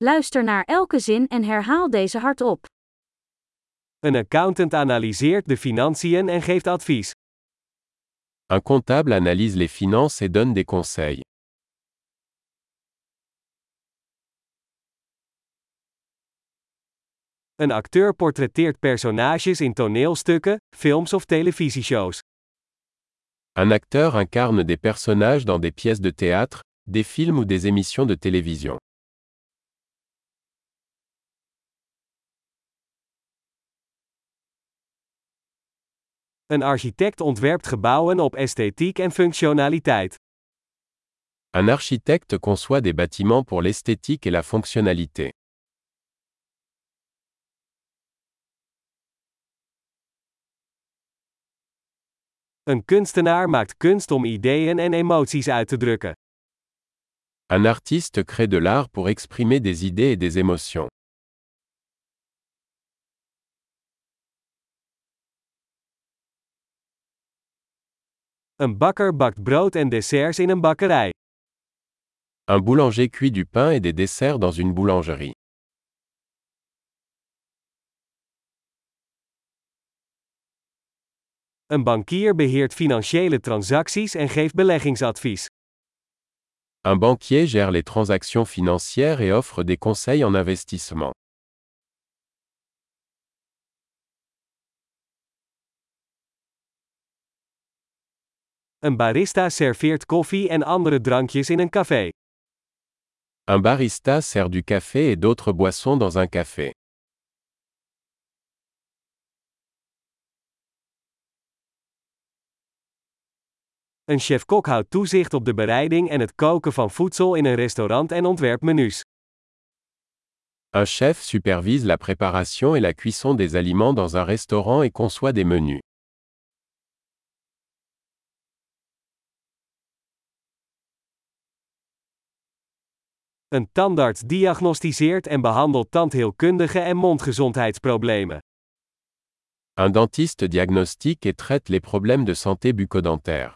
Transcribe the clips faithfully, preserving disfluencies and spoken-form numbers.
Luister naar elke zin en herhaal deze hardop. Een accountant analyseert de financiën en geeft advies. Un comptable analyse les finances et donne des conseils. Een acteur portretteert personages in toneelstukken, films of televisieshows. Un acteur incarne des personnages dans des pièces de théâtre, des films ou des émissions de télévision. Een architect ontwerpt gebouwen op esthetiek en functionaliteit. Un architecte conçoit des bâtiments pour l'esthétique et la fonctionnalité. Een kunstenaar maakt kunst om ideeën en emoties uit te drukken. Un artiste crée de l'art pour exprimer des idées et des émotions. Een bakker bakt brood en desserts in een bakkerij. Un boulanger cuit du pain et des desserts dans une boulangerie. Een bankier beheert financiële transacties en geeft beleggingsadvies. Un banquier gère les transactions financières et offre des conseils en investissement. Een barista serveert koffie en andere drankjes in een café. Un barista sert du café et d'autres boissons dans un café. Een chef-kok houdt toezicht op de bereiding en het koken van voedsel in een restaurant en ontwerpt menus. Un chef supervise la préparation et la cuisson des aliments dans un restaurant et conçoit des menus. Een tandarts diagnosticeert en behandelt tandheelkundige en mondgezondheidsproblemen. Un dentiste diagnostique et traite les problèmes de santé bucco-dentaire.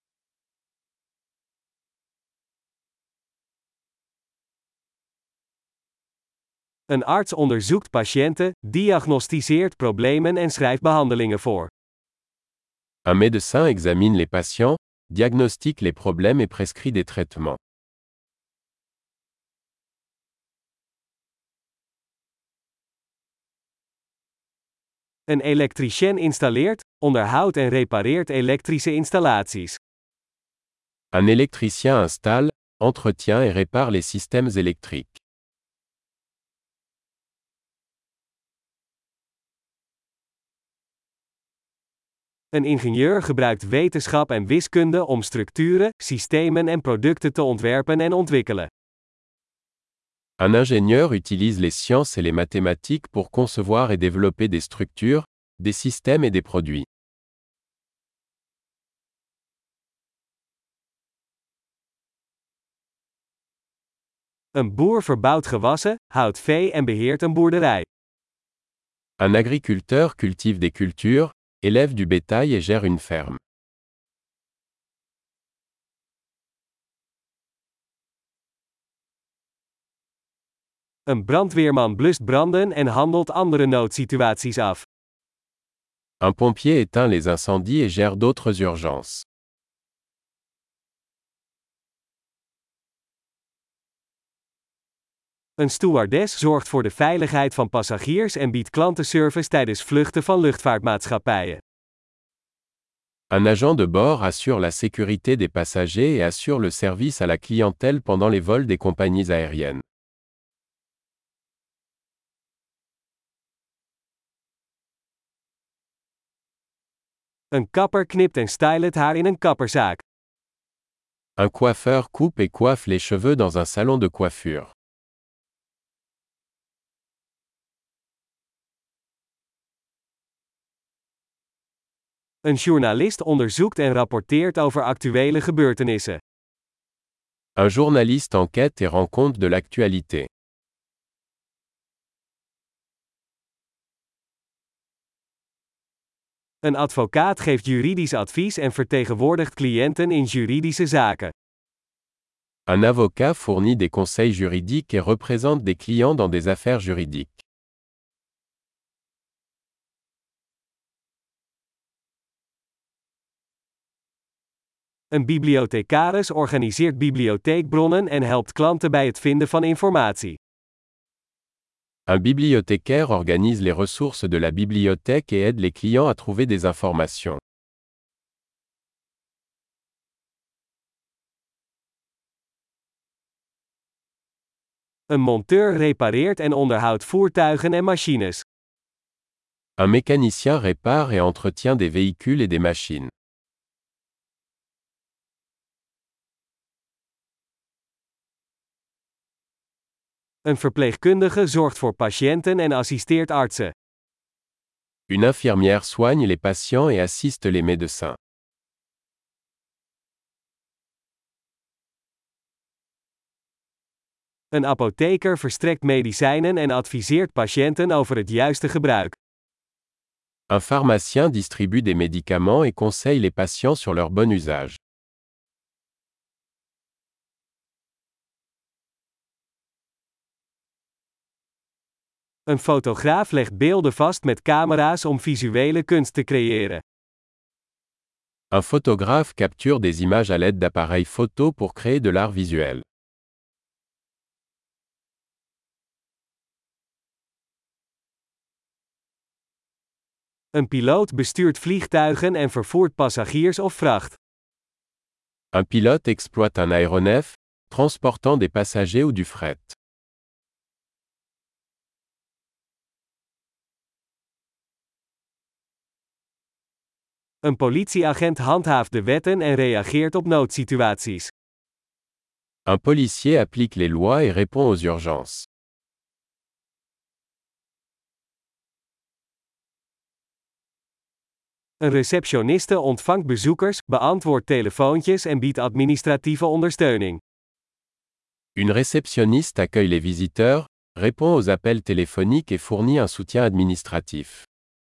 Een arts onderzoekt patiënten, diagnosticeert problemen en schrijft behandelingen voor. Un médecin examine les patients, diagnostique les problèmes et prescrit des traitements. Een elektricien installeert, onderhoudt en repareert elektrische installaties. Un électricien installe, entretient et répare les systèmes électriques. Een ingenieur gebruikt wetenschap en wiskunde om structuren, systemen en producten te ontwerpen en ontwikkelen. Un ingénieur utilise les sciences et les mathématiques pour concevoir et développer des structures, des systèmes et des produits. Een boer verbouwt gewassen, houdt vee en beheert een boerderij. Un agriculteur cultive des cultures, élève du bétail et gère une ferme. Een brandweerman blust branden en handelt andere noodsituaties af. Un pompier éteint les incendies et gère d'autres urgences. Een stewardess zorgt voor de veiligheid van passagiers en biedt klantenservice tijdens vluchten van luchtvaartmaatschappijen. Un agent de bord assure la sécurité des passagers et assure le service à la clientèle pendant les vols des compagnies aériennes. Een kapper knipt en stylt het haar in een kapperzaak. Un coiffeur coupe et coiffe les cheveux dans un salon de coiffure. Een journalist onderzoekt en rapporteert over actuele gebeurtenissen. Un journaliste enquête et rend compte de l'actualité. Een advocaat geeft juridisch advies en vertegenwoordigt cliënten in juridische zaken. Un avocat fournit des conseils juridiques et représente des clients dans des affaires juridiques. Een bibliothecaris organiseert bibliotheekbronnen en helpt klanten bij het vinden van informatie. Un bibliothécaire organise les ressources de la bibliothèque et aide les clients à trouver des informations. Een monteur repareert en onderhoudt voertuigen en machines. Un mécanicien répare et entretient des véhicules et des machines. Een verpleegkundige zorgt voor patiënten en assisteert artsen. Une infirmière soigne les patients et assiste les médecins. Een apotheker verstrekt medicijnen en adviseert patiënten over het juiste gebruik. Un pharmacien distribue des médicaments et conseille les patients sur leur bon usage. Een fotograaf legt beelden vast met camera's om visuele kunst te creëren. Un photographe capture des images à l'aide d'appareils photo pour créer de l'art visuel. Een piloot bestuurt vliegtuigen en vervoert passagiers of vracht. Un pilote exploite un aéronef, transportant des passagers ou du fret. Een politieagent handhaaft de wetten en reageert op noodsituaties. Un policier applique les lois et répond aux urgences. Een receptioniste ontvangt bezoekers, beantwoordt telefoontjes en biedt administratieve ondersteuning. Une réceptionniste accueille les visiteurs, répond aux appels téléphoniques et fournit un soutien administratif.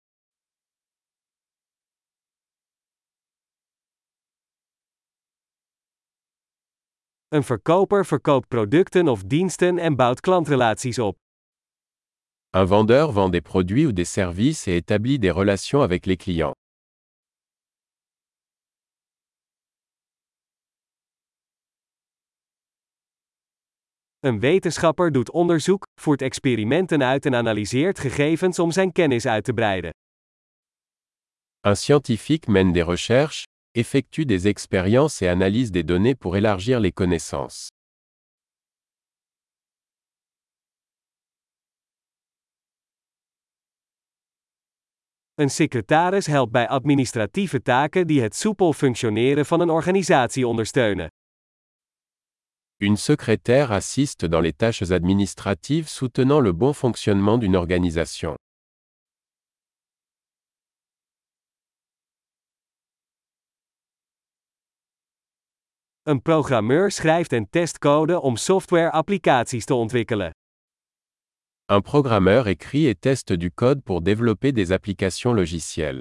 Een verkoper verkoopt producten of diensten en bouwt klantrelaties op. Un vendeur vend des produits ou des services et établit des relations avec les clients. Een wetenschapper doet onderzoek, voert experimenten uit en analyseert gegevens om zijn kennis uit te breiden. Un scientifique mène des recherches, effectue des expériences et analyse des données pour élargir les connaissances. Een secretaris helpt bij administratieve taken die het soepel functioneren van een organisatie ondersteunen. Une secrétaire assiste dans les tâches administratives soutenant le bon fonctionnement d'une organisation. Een programmeur schrijft en test code om software-applicaties te ontwikkelen. Un programmeur écrit et teste du code pour développer des applications logicielles.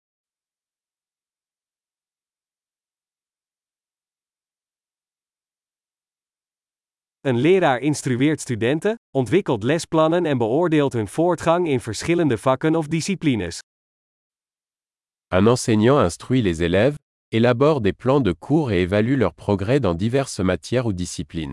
Een leraar instrueert studenten, ontwikkelt lesplannen en beoordeelt hun voortgang in verschillende vakken of disciplines. Un enseignant instruit les élèves, élabore des plans de cours et évalue leur progrès dans diverses matières ou disciplines.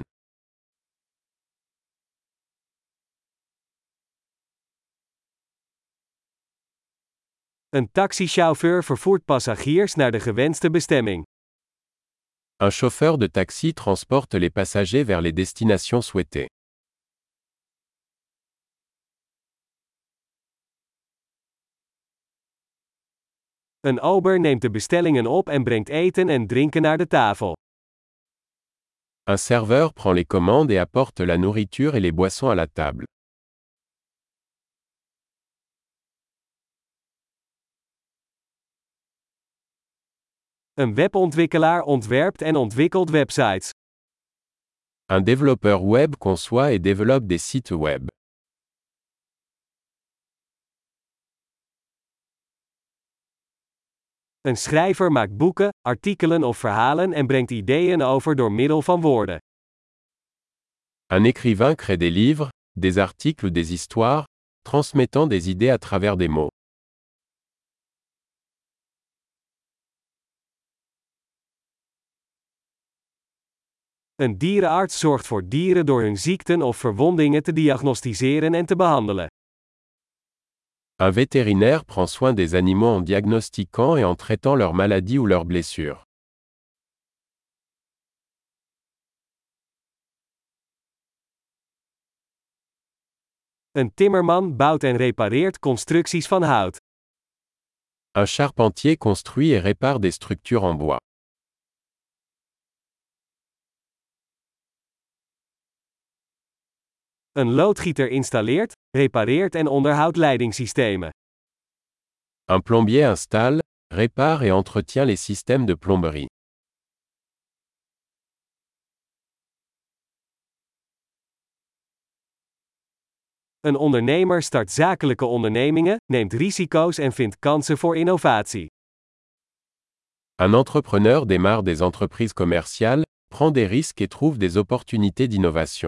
Een taxichauffeur vervoert passagiers naar de gewenste bestemming. Un chauffeur de taxi transporte les passagers vers les destinations souhaitées. Een ober neemt de bestellingen op en brengt eten en drinken naar de tafel. Un serveur prend les commandes et apporte la nourriture et les boissons à la table. Een webontwikkelaar ontwerpt en ontwikkelt websites. Un développeur web conçoit et développe des sites web. Een schrijver maakt boeken, artikelen of verhalen en brengt ideeën over door middel van woorden. Un écrivain crée des livres, des articles ou des histoires, transmettant des idées à travers des mots. Een dierenarts zorgt voor dieren door hun ziekten of verwondingen te diagnosticeren en te behandelen. Un vétérinaire prend soin des animaux en diagnostiquant et en traitant leurs maladies ou leurs blessures. Een timmerman bouwt en repareert constructies van hout. Un charpentier construit et répare des structures en bois. Een loodgieter installeert, repareert en onderhoudt leidingssystemen. Un plombier installe, répare et entretient les systèmes de plomberie. Een ondernemer start zakelijke ondernemingen, neemt risico's en vindt kansen voor innovatie. Un entrepreneur démarre des entreprises commerciales, prend des risques et trouve des opportunités d'innovation.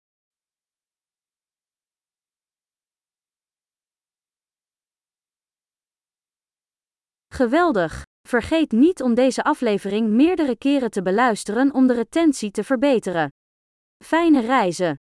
Geweldig! Vergeet niet om deze aflevering meerdere keren te beluisteren om de retentie te verbeteren. Fijne reizen!